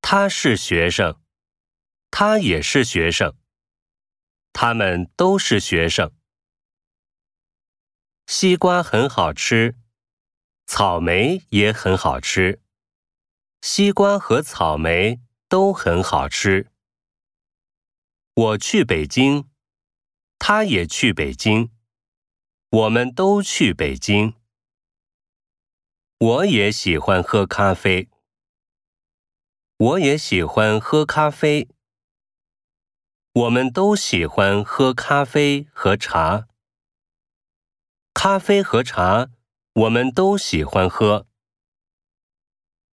他是学生，他也是学生，他们都是学生。西瓜很好吃，草莓也很好吃，西瓜和草莓都很好吃。我去北京，他也去北京，我们都去北京。我也喜欢喝咖啡，我也喜欢喝咖啡。我们都喜欢喝咖啡和茶。咖啡和茶，我们都喜欢喝。